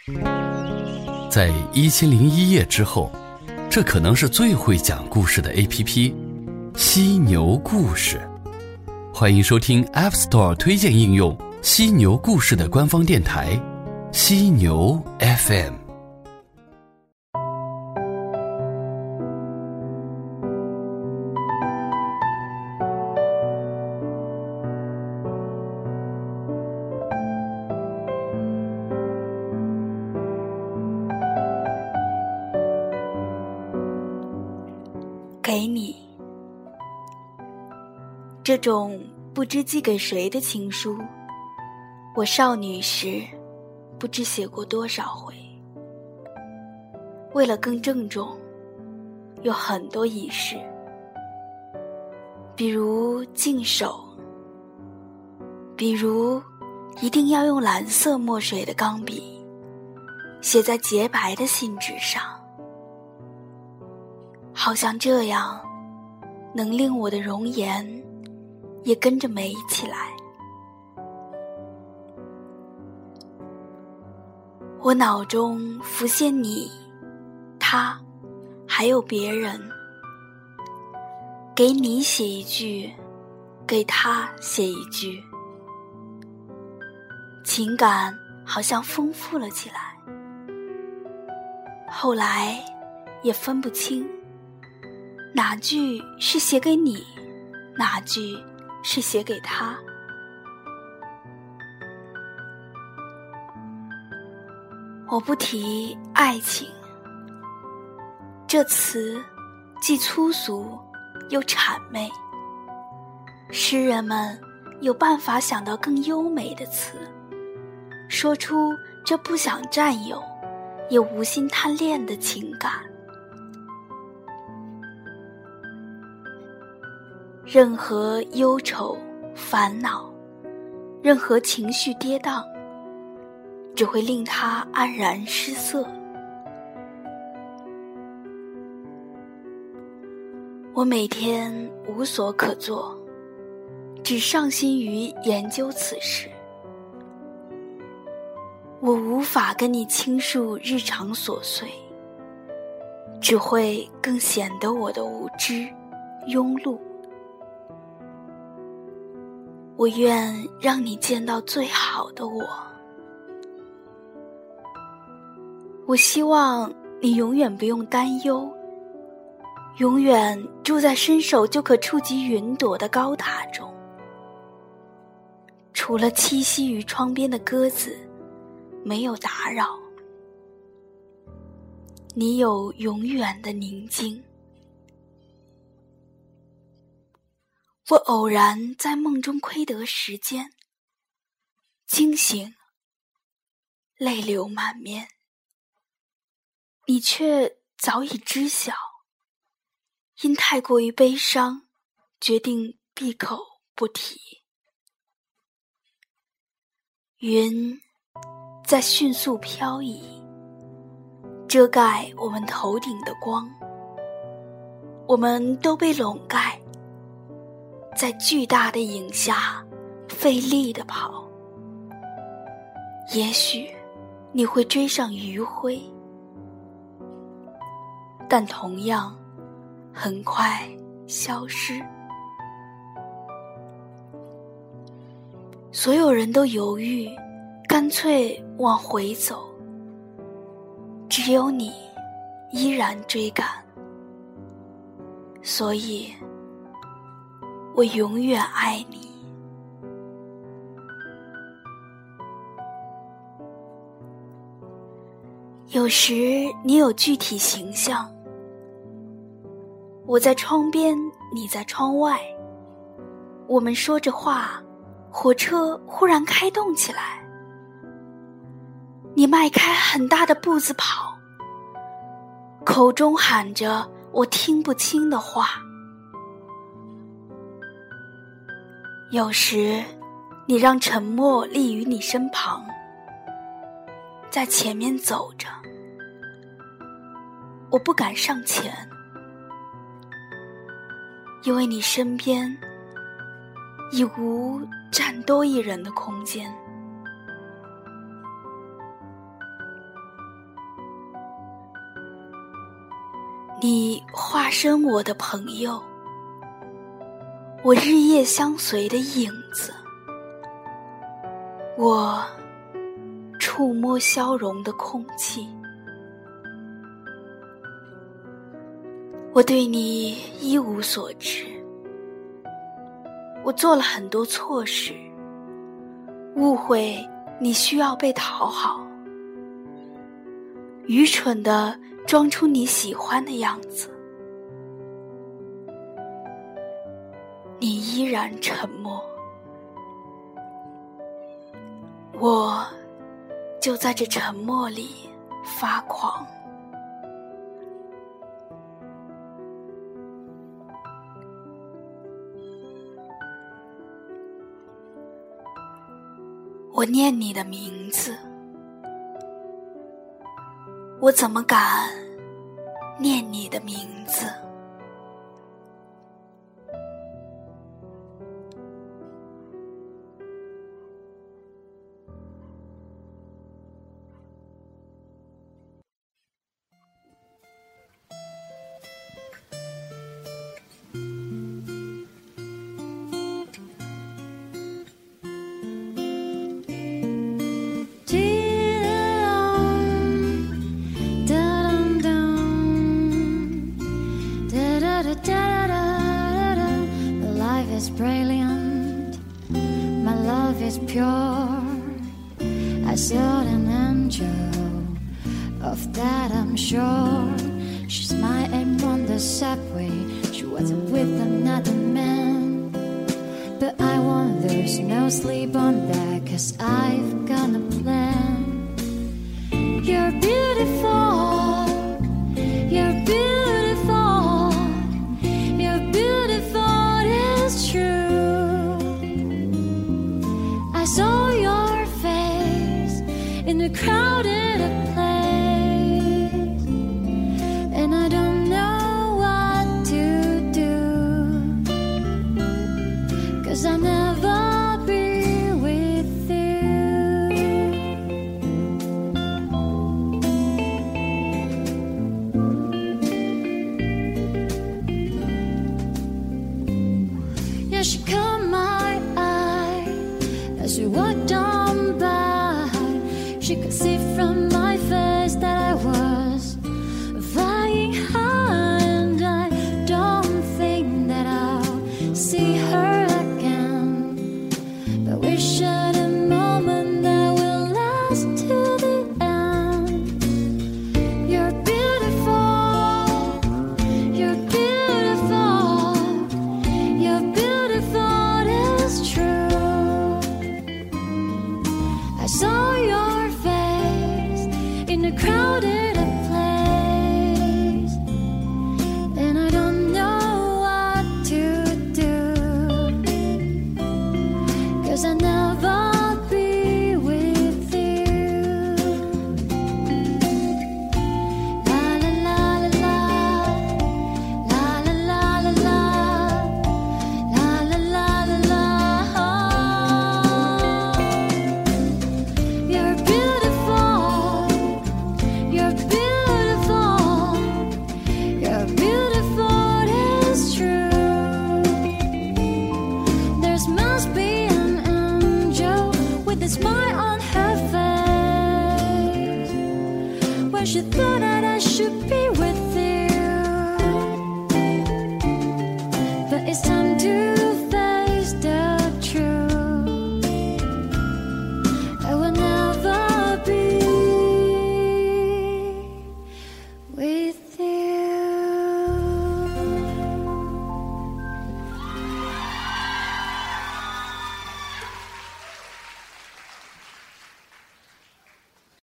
在1001夜之后，这可能是最会讲故事的 APP 犀牛故事。欢迎收听 App Store 推荐应用犀牛故事的官方电台犀牛 FM。 给你，这种不知寄给谁的情书，我少女时不知写过多少回。为了更郑重，有很多仪式，比如净手，比如一定要用蓝色墨水的钢笔写在洁白的信纸上，好像这样能令我的容颜也跟着美起来。我脑中浮现你、他还有别人，给你写一句，给他写一句，情感好像丰富了起来。后来也分不清哪句是写给你，哪句是写给他。我不提爱情，这词既粗俗又谄媚，诗人们有办法想到更优美的词，说出这不想占有也无心贪恋的情感。任何忧愁、烦恼，任何情绪跌宕，只会令他黯然失色。我每天无所可做，只上心于研究此事。我无法跟你倾诉日常琐碎，只会更显得我的无知、庸碌。我愿让你见到最好的我。我希望你永远不用担忧，永远住在伸手就可触及云朵的高塔中。除了栖息于窗边的鸽子，没有打扰。你有永远的宁静。我偶然在梦中窥得时间，惊醒，泪流满面，你却早已知晓，因太过于悲伤，决定闭口不提。云在迅速飘移，遮盖我们头顶的光，我们都被笼盖在巨大的影下，费力地跑。也许你会追上余晖，但同样很快消失。所有人都犹豫，干脆往回走，只有你依然追赶。所以我永远爱你。有时你有具体形象，我在窗边，你在窗外，我们说着话，火车忽然开动起来，你迈开很大的步子跑，口中喊着我听不清的话。有时你让沉默立于你身旁，在前面走着，我不敢上前，因为你身边已无站多一人的空间。 你化身我的朋友，我日夜相随的影子，我触摸消融的空气。我对你一无所知，我做了很多错事，误会你需要被讨好，愚蠢地装出你喜欢的样子。你依然沉默，我就在这沉默里发狂。我念你的名字，我怎么敢念你的名字？ Brilliant, my love is pure. I saw an angel, of that I'm sure. She's my aim on the subway. She wasn't with another man, but I won't lose no sleep on that, 'cause I've got a plan. You're beautiful, you're beautiful, you're beautiful, it's true. I saw your face in a crowded place, and I don't know what to do, 'cause I'll never be with you. Yeah, she caught my eye as we walked on by. She could see from my face that I was flying high, and I don't think that I'll see her again, but we shared a moment that will last to the end. You're beautiful, you're beautiful, you're beautiful, it's true. I saw your face in a crowded place, and I don't know what to do, 'cause I'll never be with you. La la la la la, la la la la la, la la la la la. You're beautiful, you're beautiful, you're beautiful, it's true. There must be an angel with a smile on her face, when she thought that I should be with you, but it's time